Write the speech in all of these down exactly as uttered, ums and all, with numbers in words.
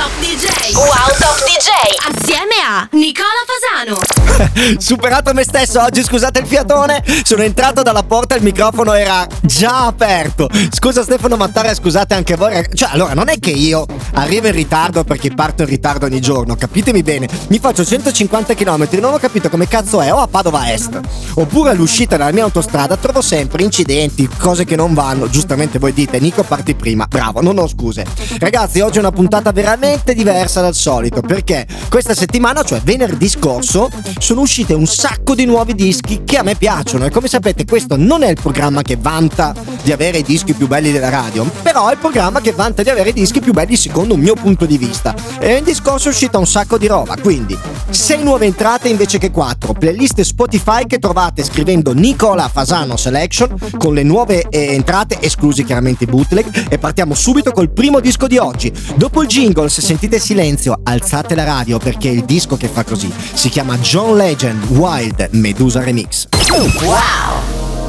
Top D J. Wow Top D J. Assieme a Nicola Fasano. Superato me stesso oggi, scusate il fiatone. Sono entrato dalla porta e il microfono era già aperto. Scusa Stefano Mattara, scusate anche voi. Cioè, allora, non è che io arrivo in ritardo perché parto in ritardo ogni giorno, capitemi bene. Mi faccio centocinquanta chilometri, non ho capito come cazzo è, o a Padova Est, oppure all'uscita dalla mia autostrada trovo sempre incidenti, cose che non vanno. Giustamente voi dite, Nico parti prima. Bravo, non ho scuse. Ragazzi, oggi è una puntata veramente diversa dal solito, perché questa settimana, cioè venerdì scorso, sono uscite un sacco di nuovi dischi che a me piacciono. E come sapete, questo non è il programma che vanta di avere i dischi più belli della radio, però è il programma che vanta di avere i dischi più belli secondo un mio punto di vista. E venerdì scorso è uscita un sacco di roba, quindi sei nuove entrate invece che quattro, playlist Spotify che trovate scrivendo Nicola Fasano Selection con le nuove eh, entrate, esclusi chiaramente i bootleg. E partiamo subito col primo disco di oggi. Dopo il jingle, se sentite silenzio alzate la radio, perché il disco che fa così si chiama John Legend Wild Medusa Remix. Wow!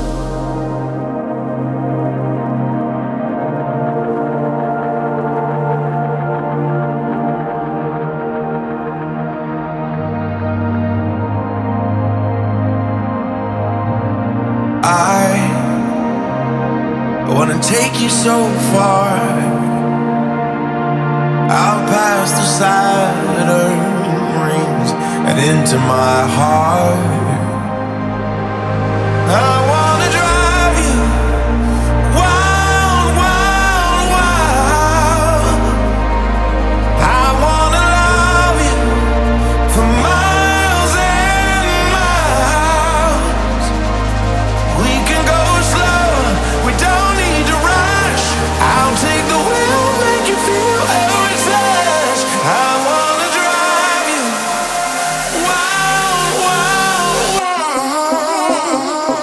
I wanna take you so far out past the Saturn rings and into my heart. I wanna drive you wild, wild, wild. I wanna love you for miles and miles. We can go slow, we don't need to rush. I'll take the wheel, make you feel every touch. I wanna drive you wild, wild, wild.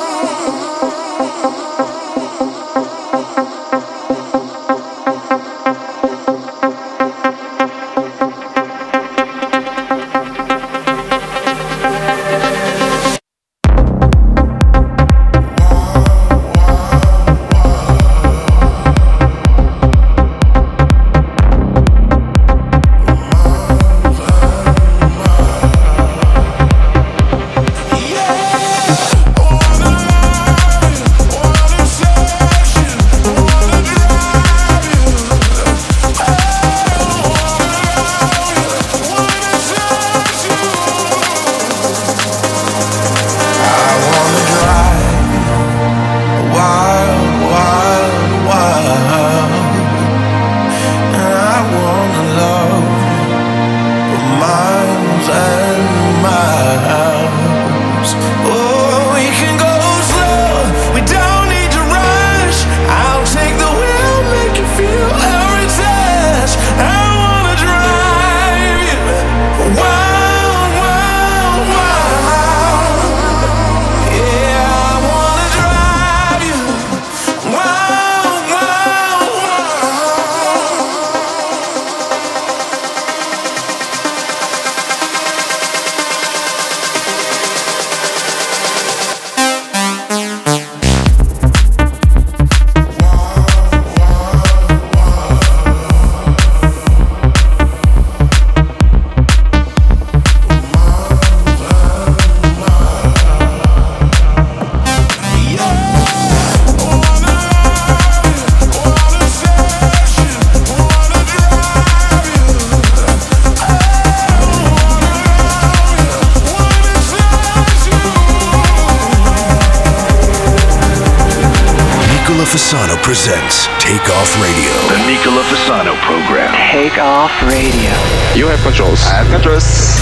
Fasano presents Take Off Radio. The Nicola Fasano program. Take Off Radio. You have controls. I have controls.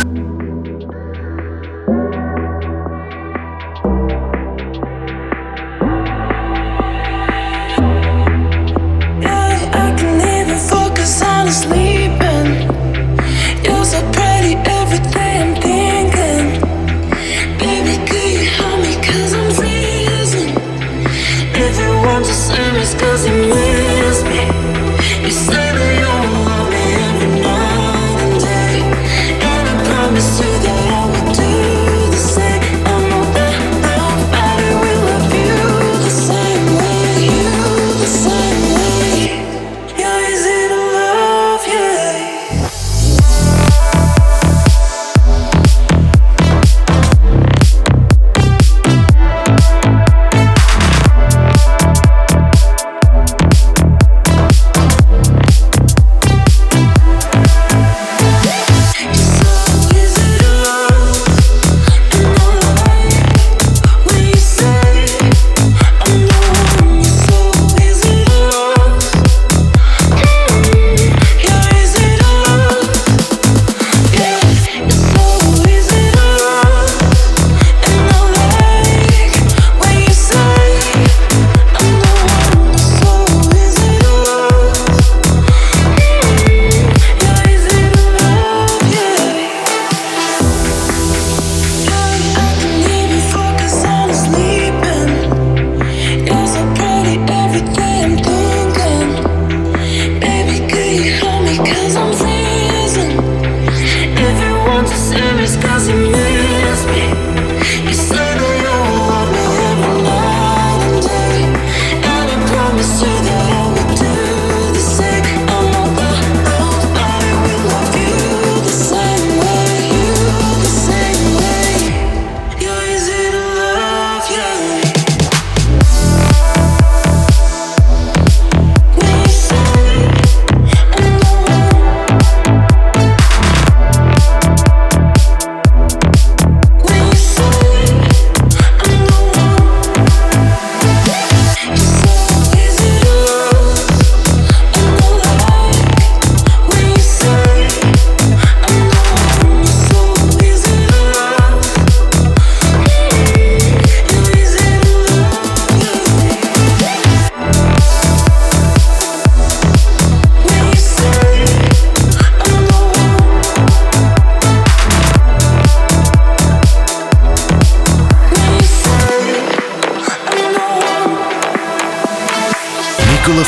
Cause you miss me. You say that you love me every night and day, and I promise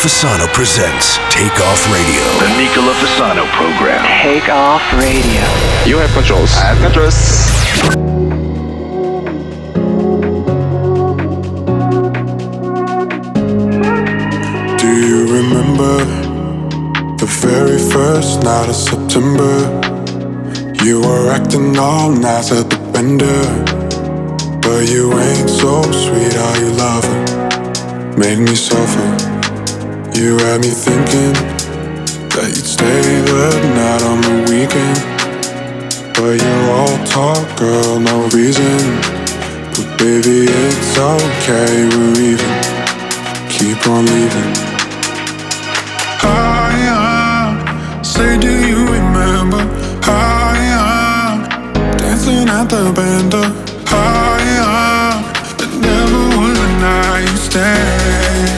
Fasano presents Take Off Radio. The Nicola Fasano program. Take Off Radio. You have controls. I have controls. Do you remember the very first night of September? You were acting all nice at the bender, but you ain't so sweet, how you love her made me suffer. You had me thinking that you'd stay the night on the weekend, but you're all talk, girl, no reason. But baby, it's okay, we're even. Keep on leaving. I say, do you remember? I dancing at the bender. I it never was a night you stay.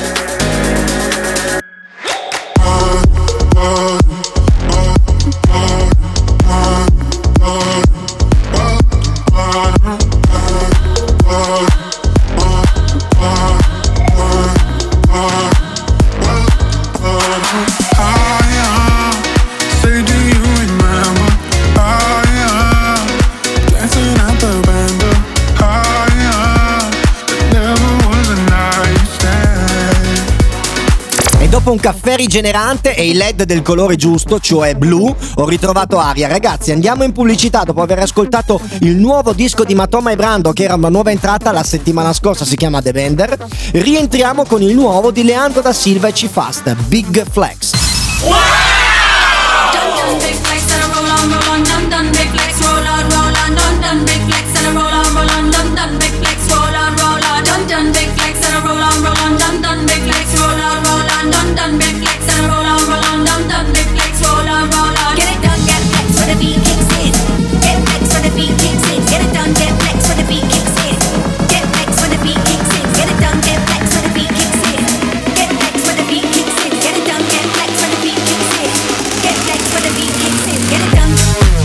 Dopo un caffè rigenerante e i led del colore giusto, cioè blu, ho ritrovato aria. Ragazzi, andiamo in pubblicità dopo aver ascoltato il nuovo disco di Matoma e Brando, che era una nuova entrata la settimana scorsa, si chiama The Bender. Rientriamo con il nuovo di Leandro da Silva e C-Fast, Big Flex. Wow! Done, done, big flex and roll on, roll on, done, done, big flex, roll on, roll on. Get it done, get flex when the beat kicks in. Get flex when the beat kicks in. Get it done, get flex when the beat kicks in. Get flex when the beat kicks in. Get it done, get flex when the beat kicks in. Get flex when the beat kicks in. Get it done, get flex when the beat kicks in. Get flex when the beat kicks in. Get it done.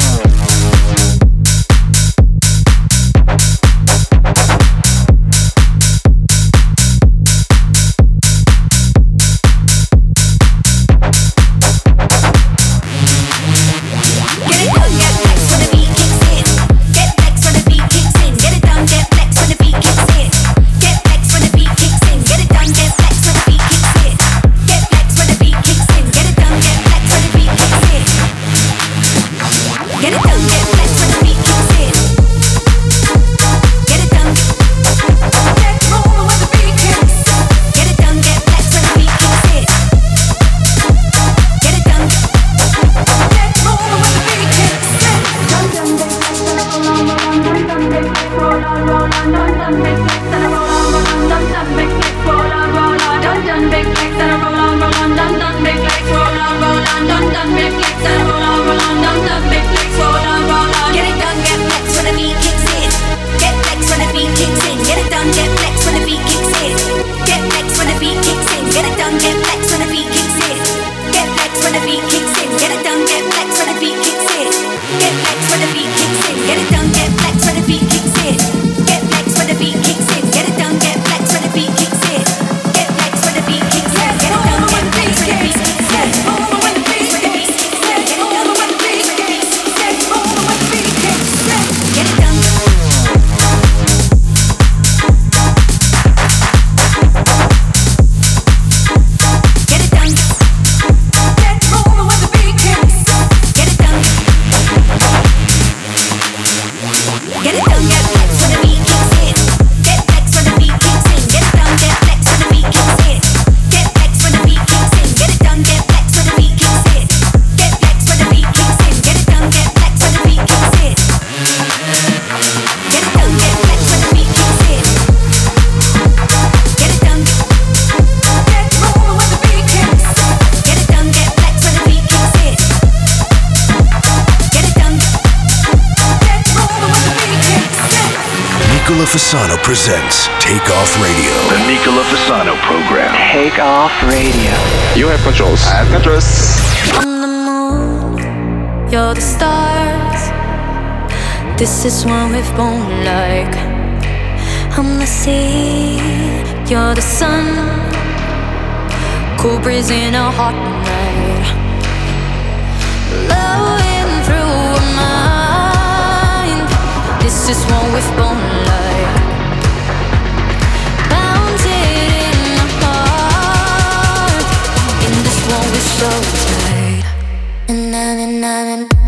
Fasano presents Take Off Radio. The Nicola Fasano program. Take Off Radio. You have controls. I have controls. On the moon, you're the stars. This is what we've born like. I'm the sea, you're the sun. cool breeze in a hot night, blowing through my mind. This is what we've born like, bounded in my heart. In this one we're so tight. Na na na na.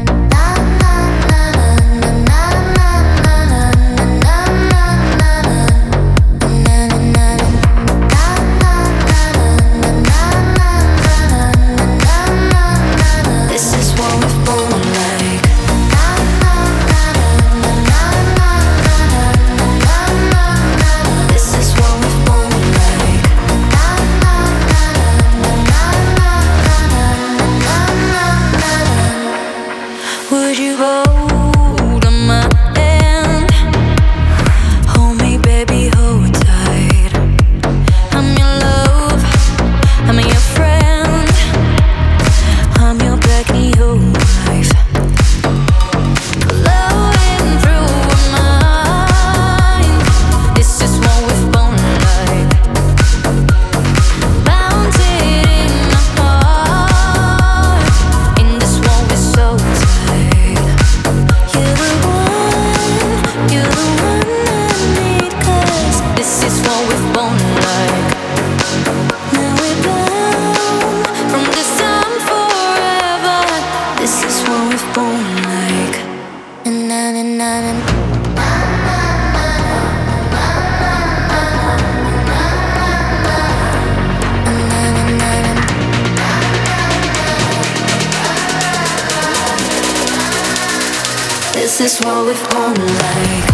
This is what we've born like.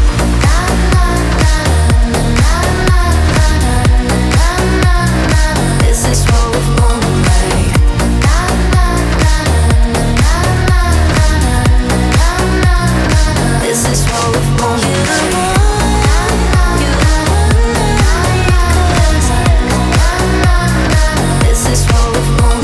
This is what we've born like. This is what we've born like. This is what we've born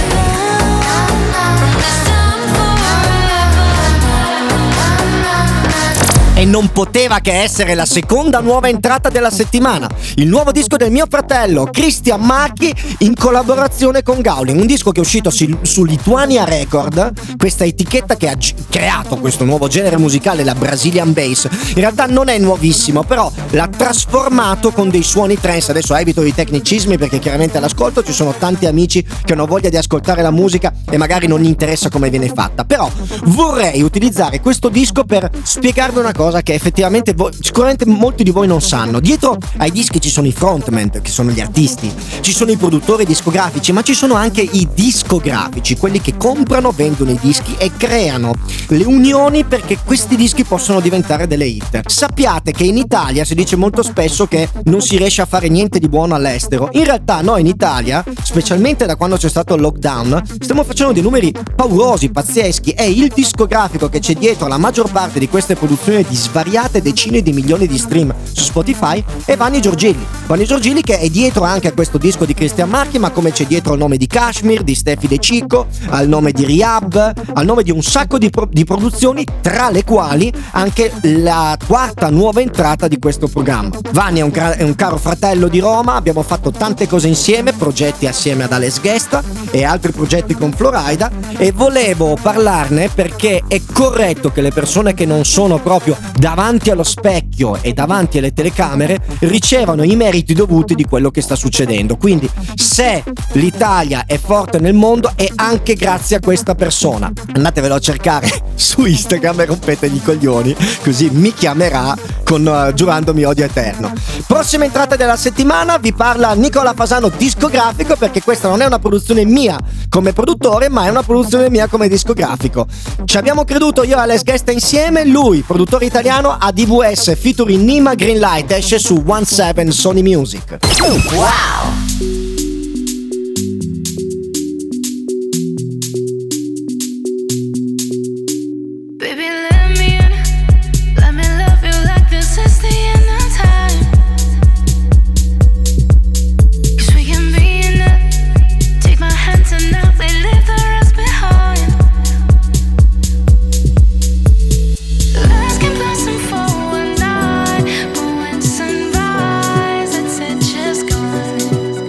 E non poteva che essere la seconda nuova entrata della settimana, il nuovo disco del mio fratello Christian Marchi in collaborazione con Gowling, un disco che è uscito su, su Lituania Record, questa etichetta che ha g- creato questo nuovo genere musicale, la Brazilian Bass. In realtà non è nuovissimo, però l'ha trasformato con dei suoni trance. Adesso evito i tecnicismi perché chiaramente all'ascolto ci sono tanti amici che hanno voglia di ascoltare la musica e magari non gli interessa come viene fatta, però vorrei utilizzare questo disco per spiegarvi una cosa che effettivamente voi, sicuramente molti di voi non sanno. Dietro ai dischi ci sono i frontman, che sono gli artisti, ci sono i produttori discografici, ma ci sono anche i discografici, quelli che comprano, vendono i dischi e creano le unioni perché questi dischi possono diventare delle hit. Sappiate che in Italia si dice molto spesso che non si riesce a fare niente di buono all'estero. In realtà noi in Italia, specialmente da quando c'è stato il lockdown, stiamo facendo dei numeri paurosi, pazzeschi. È il discografico che c'è dietro la maggior parte di queste produzioni di svariate decine di milioni di stream su Spotify è Vanni Giorgilli. Vanni Giorgilli che è dietro anche a questo disco di Christian Marchi, ma come c'è dietro il nome di Kashmir, di Steffi De Cicco, al nome di Rihab, al nome di un sacco di, pro- di produzioni, tra le quali anche la quarta nuova entrata di questo programma. Vanni è un, car- è un caro fratello di Roma, abbiamo fatto tante cose insieme, progetti assieme ad Alex Gesta e altri progetti con Florida, e volevo parlarne perché è corretto che le persone che non sono proprio davanti allo specchio e davanti alle telecamere ricevano i meriti dovuti di quello che sta succedendo. Quindi se l'Italia è forte nel mondo è anche grazie a questa persona. Andatevelo a cercare su Instagram e rompetegli i coglioni, così mi chiamerà con uh, giurandomi odio eterno. Prossima entrata della settimana vi parla Nicola Fasano discografico, perché questa non è una produzione mia come produttore, ma è una produzione mia come discografico. Ci abbiamo creduto io e Alex Gesta insieme. Lui, produttore italiano, a D V S featuring Nima Greenlight, esce su diciassette Sony Music. Wow! Just gone.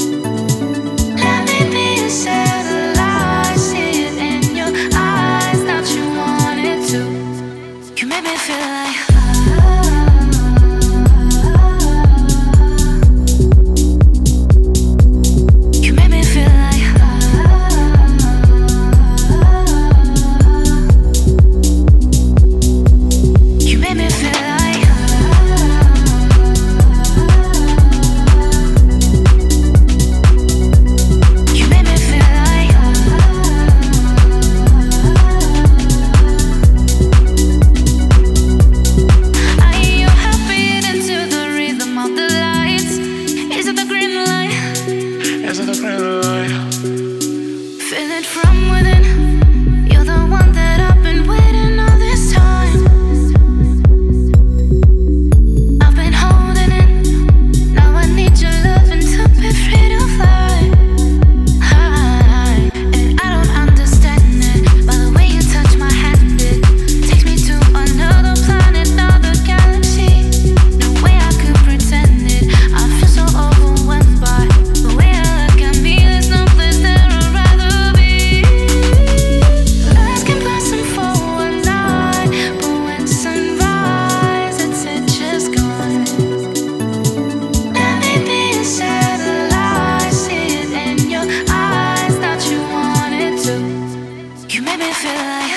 make me feel like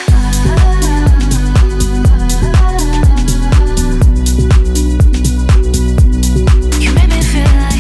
you make me feel like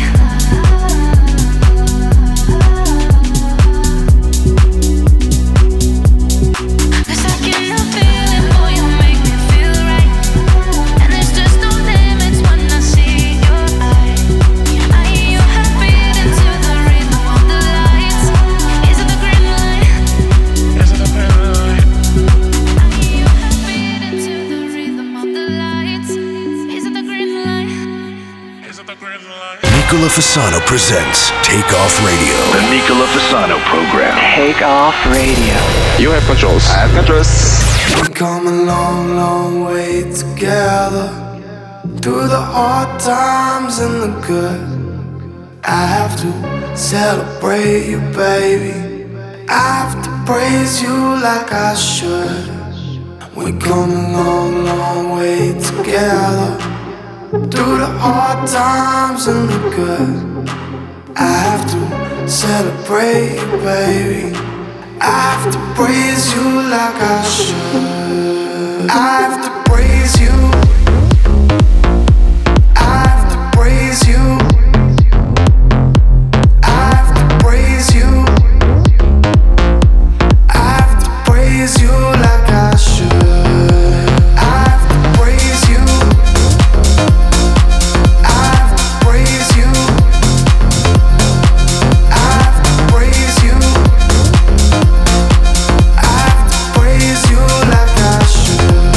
it's like you know feeling, boy, you make me feel right. And there's just no limits when I see your eyes. Are you happy into the rhythm of the lights? Is it the green light? Is it the green light? Are you happy into the rhythm of the lights? Is it the green light? Is it the green light? Nicola Fasano presents Take Off Radio. The Nicola Fasano program. Take Off Radio. You have controls. I have controls. We've come a long, long way together, through the hard times and the good. I have to celebrate you, baby. I have to praise you like I should. We've come a long, long way together, through the hard times and the good. I have to celebrate you, baby. I have to praise you like I should. I have to praise you. I have to praise you. I have to praise you. I have to praise you like I should. I have to praise you. I have to praise you. I have to praise you. I have to praise you like I should.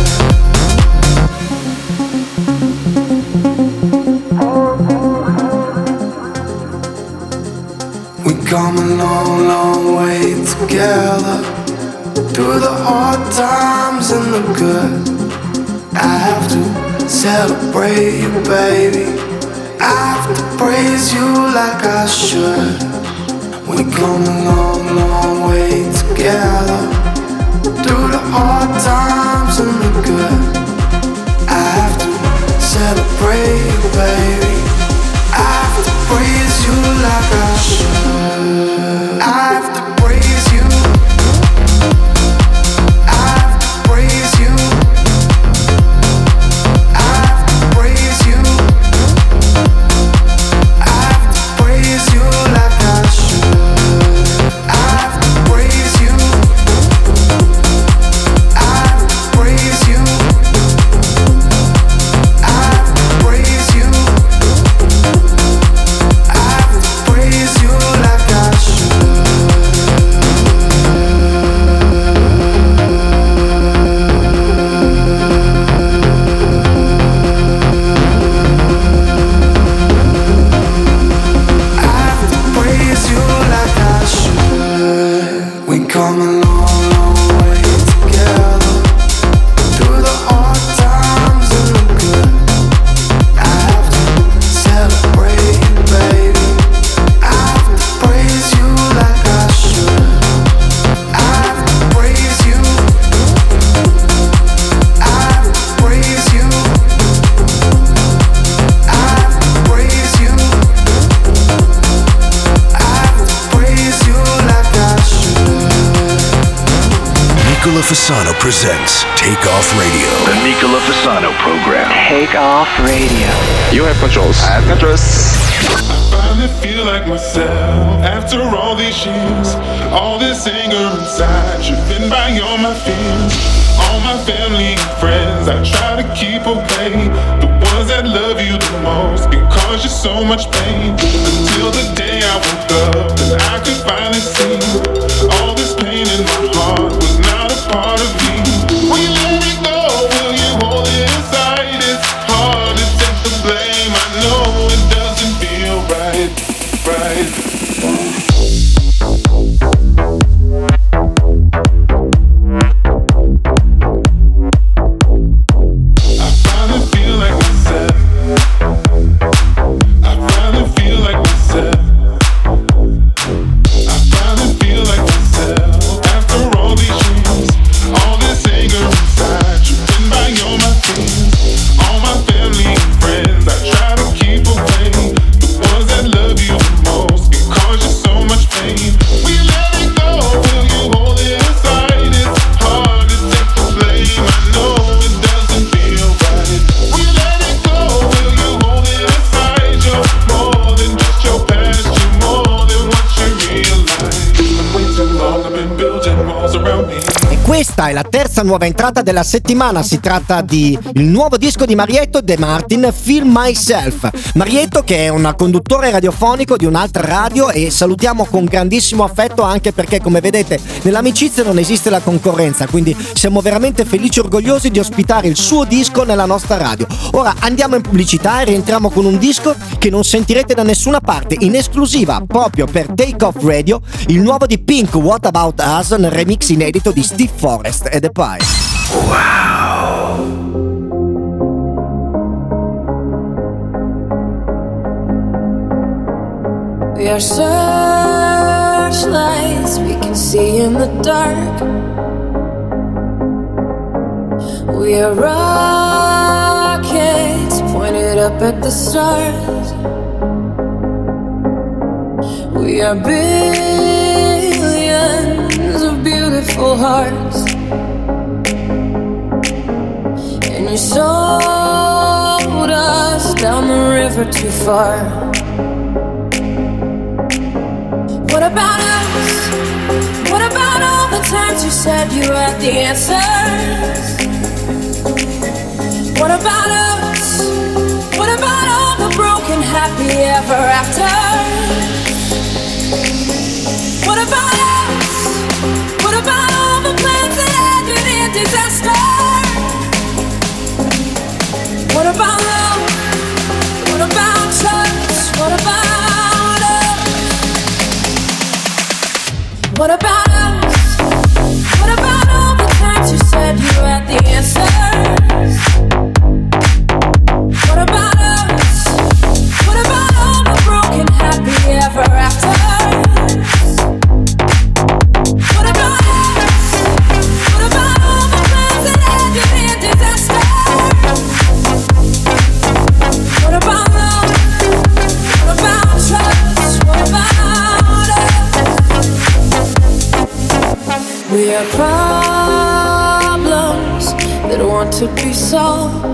We come a long, long way together, through the hard times and the good. I have to celebrate you, baby. I have to praise you like I should. We come a long, long way together, through the hard times and the good. I have to celebrate you, baby. I have to praise you like I should. I have to praise you. I have to praise you. I have to praise you. I have to praise you like I should. I have to praise you. I have to praise you. I have to praise you. I have to praise you like I should. I have to praise you like I should. We come a long, long way together, through the hard times and the good. I have to celebrate you, baby. I have to praise you like I should. I have to praise you. I have to praise you. I have to praise you. I have to praise you like I should. Nicola Fasano presents Take Off Radio. The Nicola Fasano program. Take Off Radio. You have controls. I have controls. Finally feel like myself after all these years. All this anger inside, driven by all my fears. All my family and friends, I try to keep away. The ones that love you the most can cause you so much pain. Until the day I woke up and I could finally see all this pain in my heart was not a part of me. Will you let it go? Will you hold it inside? It's hard to take the blame. I know it doesn't feel right, right. I finally feel like myself. I finally feel like myself. I finally feel like myself. After all these years. questa è la terza nuova entrata della settimana. Si tratta di il nuovo disco di Marietto De Martin, Feel Myself. Marietto, che è un conduttore radiofonico di un'altra radio, e salutiamo con grandissimo affetto, anche perché, come vedete, nell'amicizia non esiste la concorrenza, quindi siamo veramente felici e orgogliosi di ospitare il suo disco nella nostra radio. Ora andiamo in pubblicità e rientriamo con un disco che non sentirete da nessuna parte, in esclusiva proprio per Take Off Radio, il nuovo di Pink, What About Us, nel remix inedito di Steve Forrest e The Pie. Wow. We are searchlights we can see in the dark. We are rockets pointed up at the stars. We are billions of beautiful hearts. And you sold us down the river too far. What about us? What about all the times you said you had the answers? What about us? What about all the broken happy ever after? What about us? What about all the plans that ended in disaster? What about love? What about trust? What about What about us? What about all the times you said you had the answers? What about us? What about all the broken happy ever after? What about us? What about all the plans that ended in disaster? What about love? What about trust? What about We are problems that want to be solved.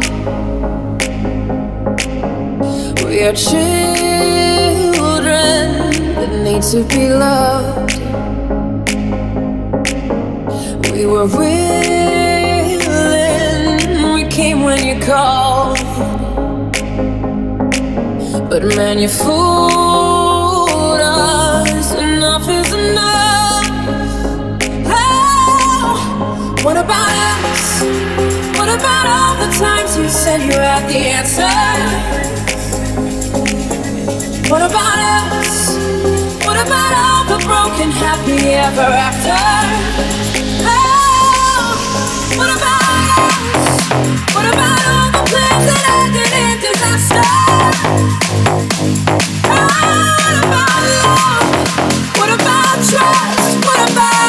We are children that need to be loved. We were willing, we came when you called. But man, you fooled us, enough is enough. What about us? What about all the times you said you had the answer? What about us? What about all the broken happy ever after? Oh, what about us? What about all the plans that ended in disaster? Oh, what about love? What about trust? What about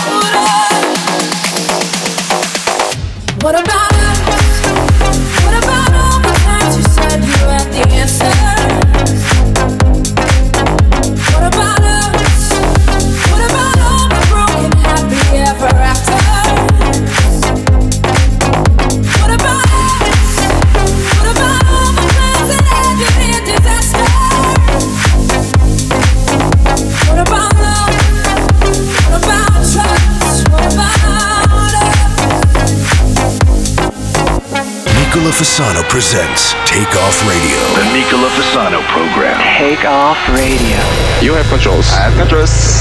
What about us? What about all the times you said you had the answers? What about us? What about all the broken happy ever after? What about us? What about all the plans that ended in disaster? What about love? What about trust? What about Nicola Fasano presents Take Off Radio. The Nicola Fasano program. Take Off Radio. You have controls. I have controls.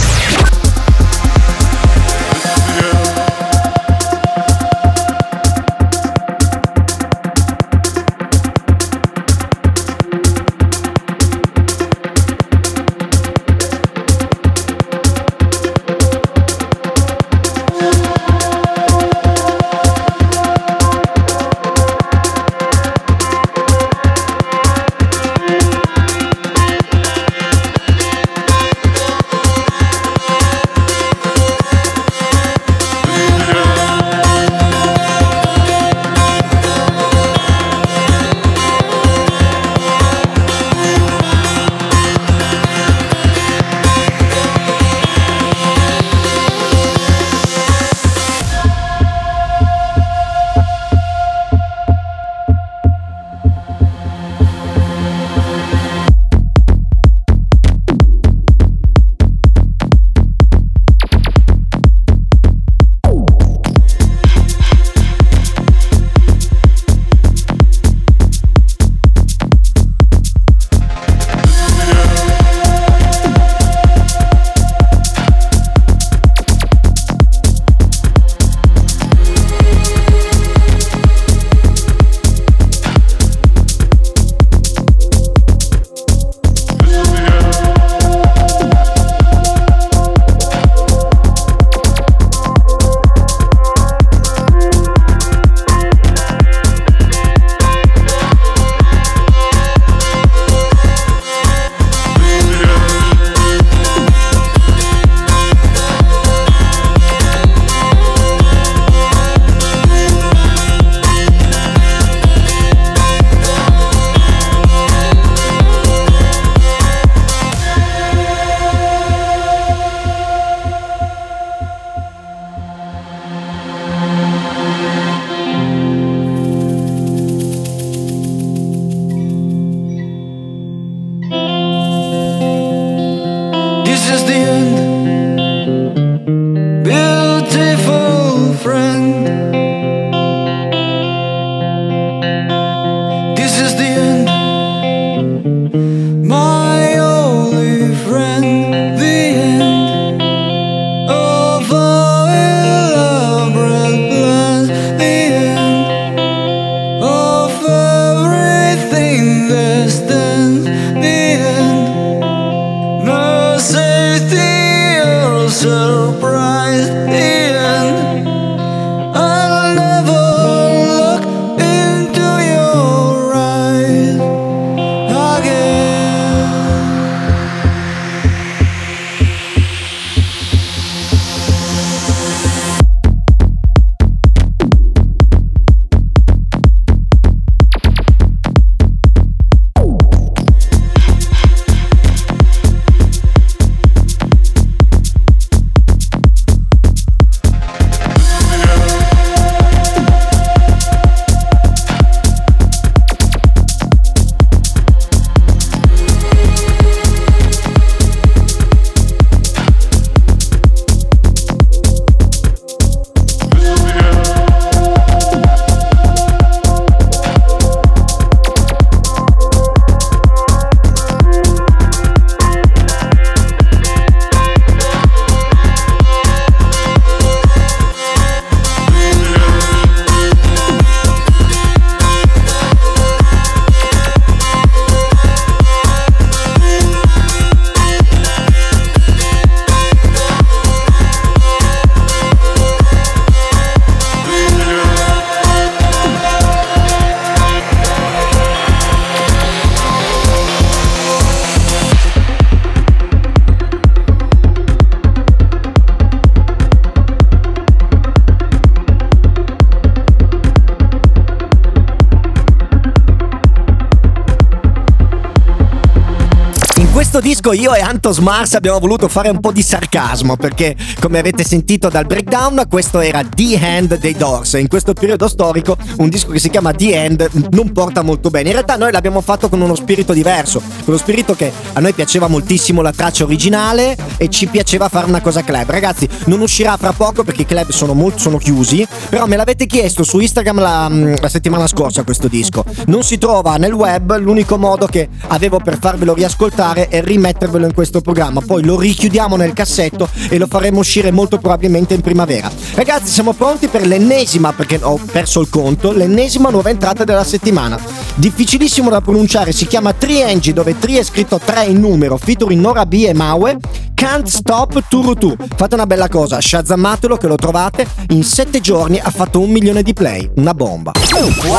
disco io e Antos Mars abbiamo voluto fare un po' di sarcasmo, perché come avete sentito dal breakdown, questo era The End dei Doors, e in questo periodo storico un disco che si chiama The End non porta molto bene. In realtà noi l'abbiamo fatto con uno spirito diverso, con lo spirito che a noi piaceva moltissimo la traccia originale e ci piaceva fare una cosa club. Ragazzi, non uscirà fra poco perché i club sono molto sono chiusi, però me l'avete chiesto su Instagram la, la settimana scorsa questo disco. Non si trova nel web, l'unico modo che avevo per farvelo riascoltare è rimettervelo in questo programma, poi lo richiudiamo nel cassetto e lo faremo uscire molto probabilmente in primavera. Ragazzi, siamo pronti per l'ennesima, perché ho perso il conto, l'ennesima nuova entrata della settimana. Difficilissimo da pronunciare, si chiama Triengi, dove Tri è scritto tre in numero, featuring Nora B e Maue. Can't Stop Turutu. Fate una bella cosa, shazammatelo che lo trovate, in sette giorni ha fatto un milione di play, una bomba. Wow.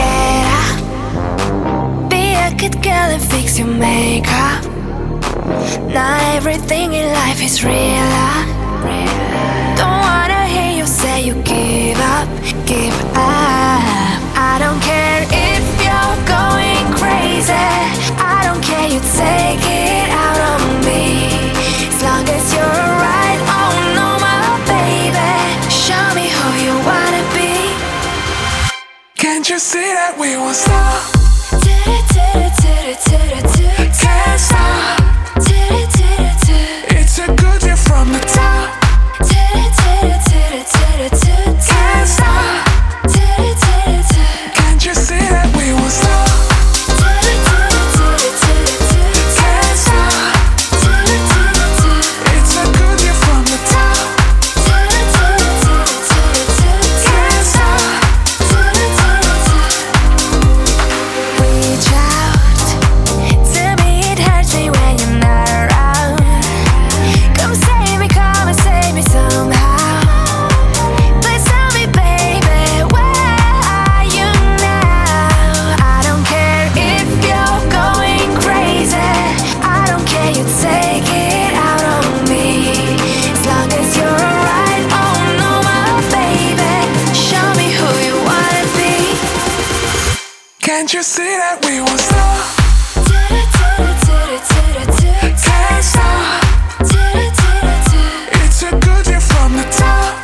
Be a good girl and fix your makeup. Not everything in life is real. Don't wanna hear you say you give up, give up. I don't care if you're going crazy. I don't care, you take it out on me. As long as you're right, oh no my baby. Show me who you wanna be. Can't you see that we won't stop? Can't stop. It's a good year from the top. Can't stop. Can't you see that we won't stop? Can't stop. It's a good year from the top. Can't stop. Reach out to me, it hurts me when you're not around. Come save me, come and save me somehow. Please tell me, baby, where are you now? I don't care if you're going crazy. I don't care, you take it out on me. As long as you're alright, oh no my baby. Show me who you wanna be. Can't you see that we won't stop? Can't stop. It's a good year from the top.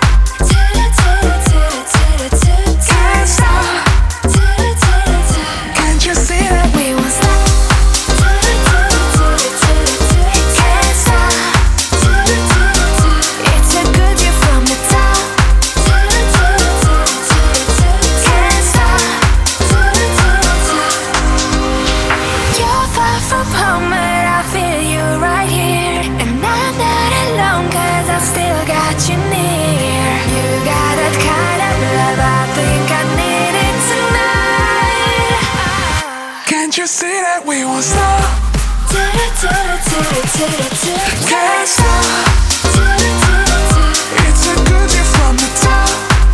Can't stop. Can't you see that We won't stop. Can't stop. It's a good year from the top. Can't stop. You're far from home, but I feel you right here. And I'm not alone, cause I still got you near. You got that kind of love, I think I need it tonight. Can't you see that we won't stop? Can't stop. It's a good year from the top.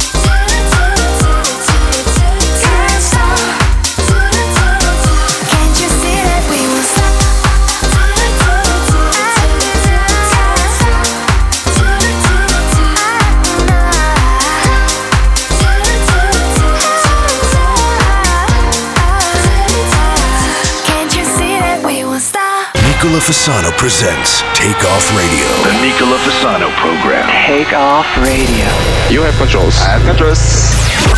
Can't stop. Can't you see that we won't stop? Can't you see that we won't stop? Nicola Fasano presents Take Off Radio. The Nicola Fasano program. Take Off Radio. You have controls. I have controls.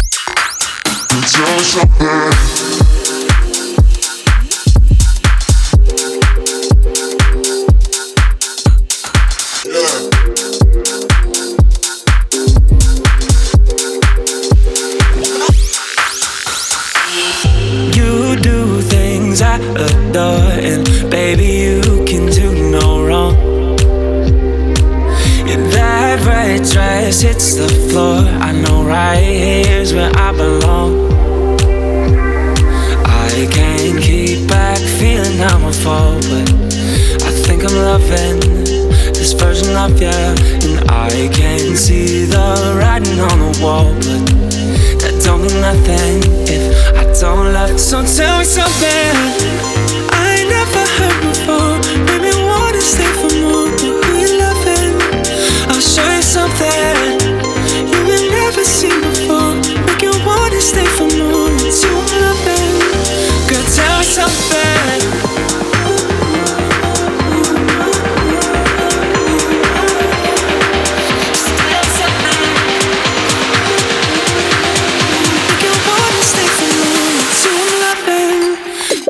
You do things I adore, and baby, you can do no wrong. And that red dress hits the floor, I know right here's where I belong. I can't keep back feeling I'm a fall, but I think I'm loving this version of you. And I can see the writing on the wall, but that don't mean nothing if I don't love. So tell me something I ain't never heard before. Maybe wanna stay for more, but we loving. I'll show you something you will never see before. Make you wanna stay for more, it's you I'm loving. Girl, tell me something.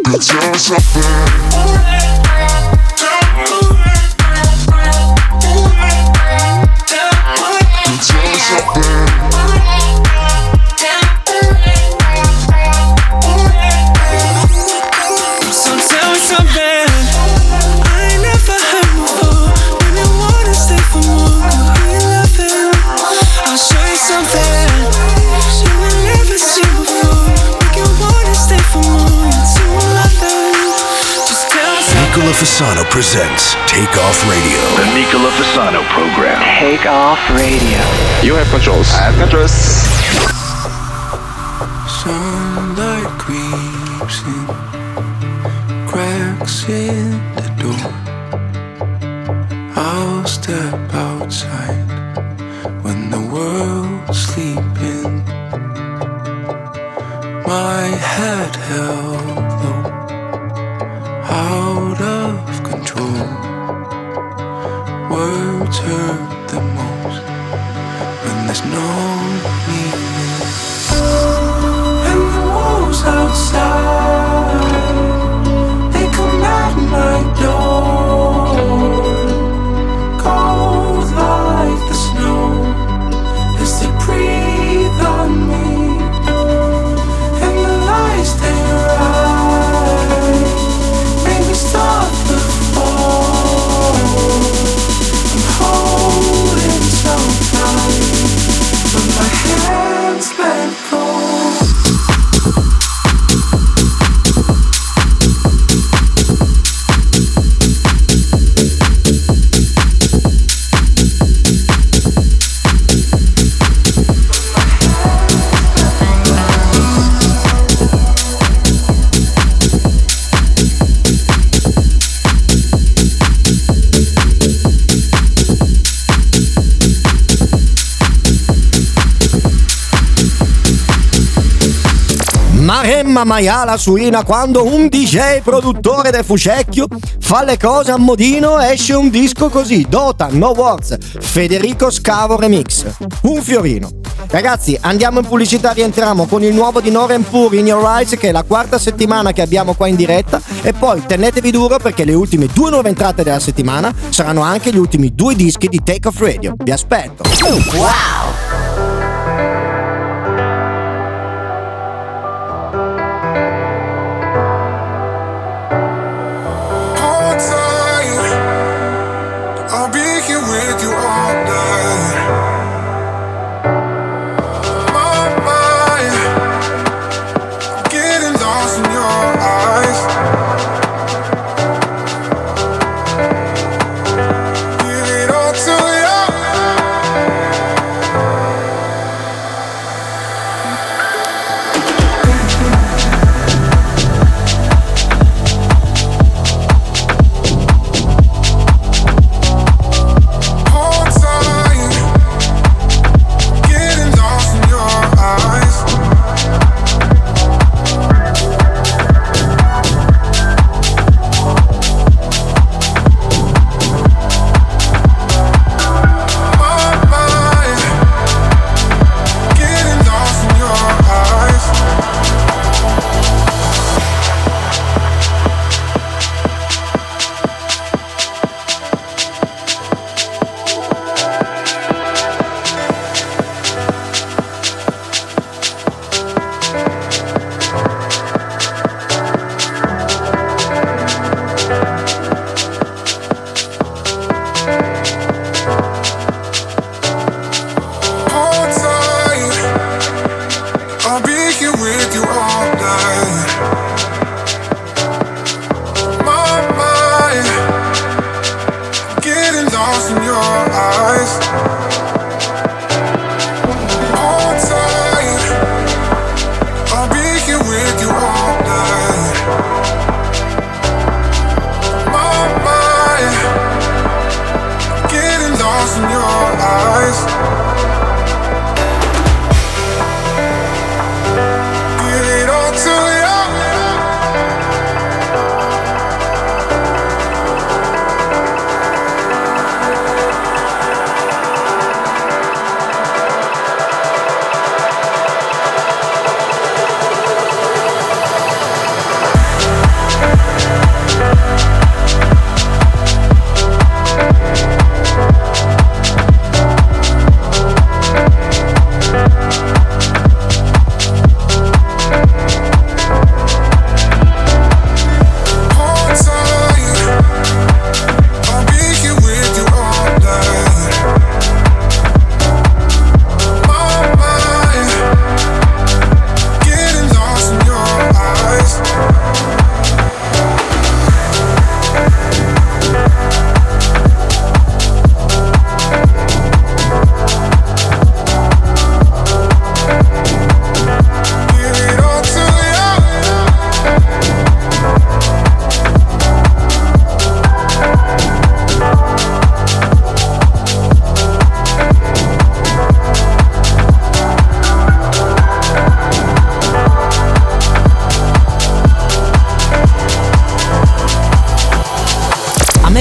Nicola Fasano presents Take Off Radio. The Nicola Fasano program. Take Off Radio. You have controls. I have controls. Sunlight creeps in, cracks in the door. I'll step outside when the world's sleeping. My head held low, out of control. Words hurt the most when there's no meaning. And the wolves outside, they come at my door, cold like the snow as they breathe on me. And the lies they write make me stop the fall. I'm holding so tight, but my hands let go. Maremma maiala suina quando un D J produttore del Fucecchio fa le cose a modino, esce un disco così. Dota, No Words, Federico Scavo Remix. Un fiorino. Ragazzi, andiamo in pubblicità, rientriamo con il nuovo di Noren Pur, In Your Eyes, che è la quarta settimana che abbiamo qua in diretta, e poi tenetevi duro perché le ultime due nuove entrate della settimana saranno anche gli ultimi due dischi di Take Off Radio. Vi aspetto. Wow! I'll be here with you all night. My mind, I'm getting lost in your eyes. Give it all to you.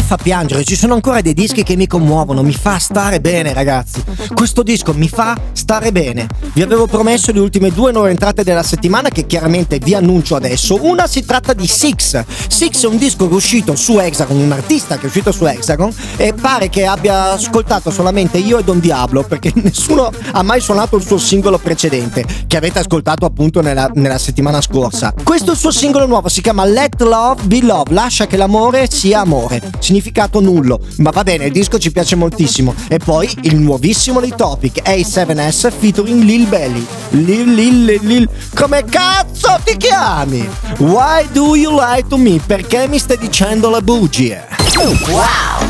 fa piangere, ci sono ancora dei dischi che mi commuovono, mi fa stare bene, ragazzi. Questo disco mi fa stare bene. Vi avevo promesso le ultime due nuove entrate della settimana che chiaramente vi annuncio adesso. Una si tratta di Six. Six è un disco che è uscito su Hexagon, un artista che è uscito su Hexagon e pare che abbia ascoltato solamente io e Don Diablo, perché nessuno ha mai suonato il suo singolo precedente, che avete ascoltato appunto nella, nella settimana scorsa. Questo suo singolo nuovo si chiama Let Love Be Love, lascia che l'amore sia amore. Significato nullo, ma va bene, il disco ci piace moltissimo. E poi il nuovissimo dei Topic, A seven S featuring Lil Belly. Lil Lil Lil Lil, come cazzo ti chiami? Why do you lie to me? Perché mi stai dicendo le bugie? Wow!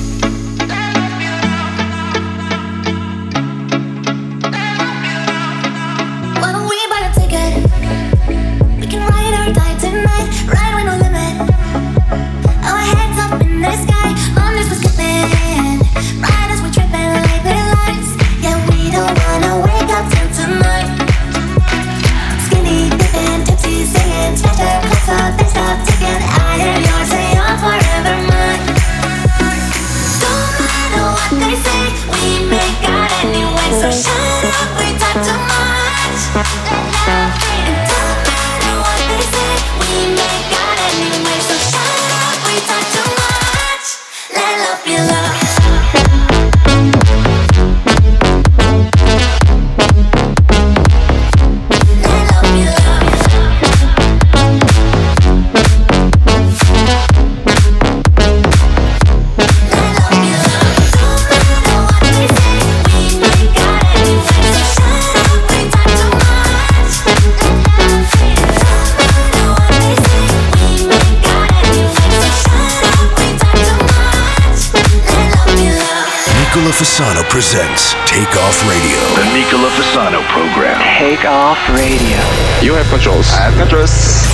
Fasano presents Take Off Radio. The Nicola Fasano program. Take Off Radio. You have controls. I have controls.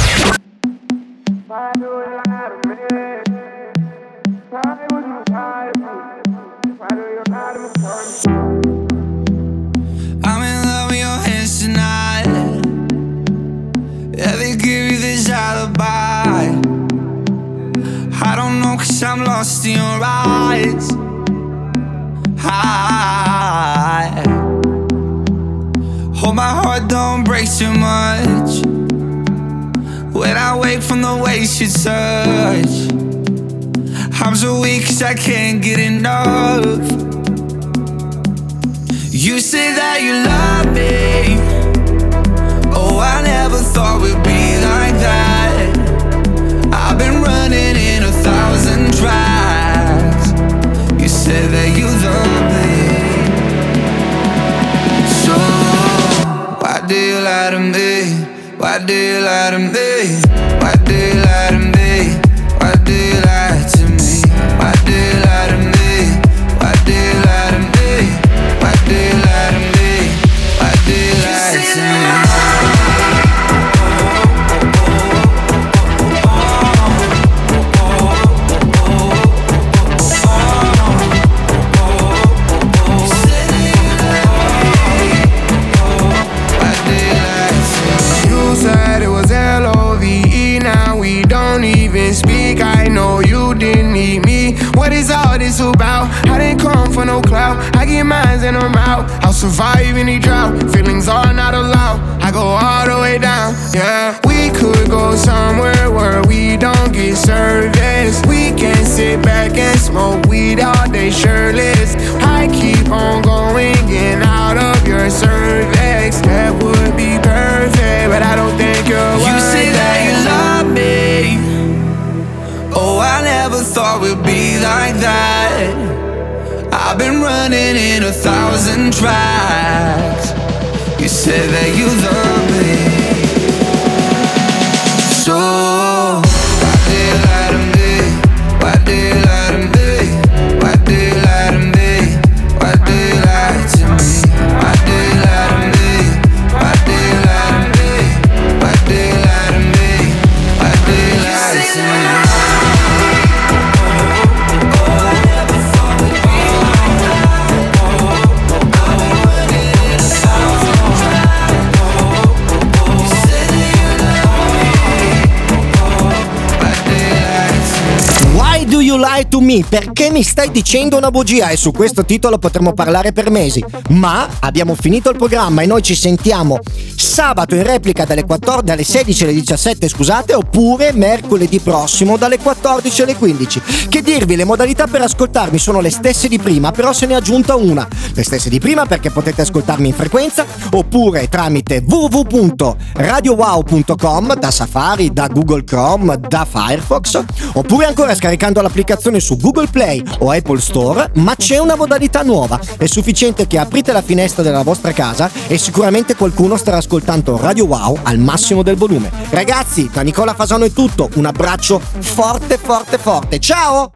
I'm in love with your hands tonight. Yeah, they give you this alibi. I don't know, cause I'm lost in your eyes. I hope my heart don't break too much when I wake from the way you touch. I'm so weak cause I can't get enough. You say that you love me. Oh, I never thought we'd be like that. I've been running in a thousand tracks. You said that you love me. So why do you lie to me? Why do you lie to me? Why do you lie to me? Why do you lie to me? Why do you lie to me? Why do you lie to me? Why do you lie to me? Why do you lie to me? What is all this about? I didn't come for no clout. I get mines and I'm out. I'll survive any drought. Feelings are not allowed. I go all the way down. Yeah, we could go somewhere where we don't get service. We can sit back and smoke weed all day shirtless. I keep on going in out of your cervix. That would be perfect, but I don't think you're worth it. You say that you love me. Oh, I never thought we'd be like that. I've been running in a thousand tracks. You said that you love me. So why do you lie to me? Why do you lie to me? Why do you lie to me? Why do you lie to me? Why do you lie to me? Why do you lie to me? Why do you lie to me? Why do you lie to me? Lie to Me? Perché mi stai dicendo una bugia? E su questo titolo potremmo parlare per mesi. Ma abbiamo finito il programma e noi ci sentiamo sabato in replica dalle, quattordici, dalle sedici alle diciassette, scusate, oppure mercoledì prossimo dalle quattordici alle quindici. Che dirvi, le modalità per ascoltarmi sono le stesse di prima, però se ne è aggiunta una. Le stesse di prima perché potete ascoltarmi in frequenza oppure tramite w w w punto radio wow punto com, da Safari, da Google Chrome, da Firefox, oppure ancora scaricando l'applicazione su Google Play o Apple Store. Ma c'è una modalità nuova, è sufficiente che aprite la finestra della vostra casa e sicuramente qualcuno starà ascoltando Radio Wow al massimo del volume. Ragazzi, da Nicola Fasano è tutto, un abbraccio forte forte forte, ciao!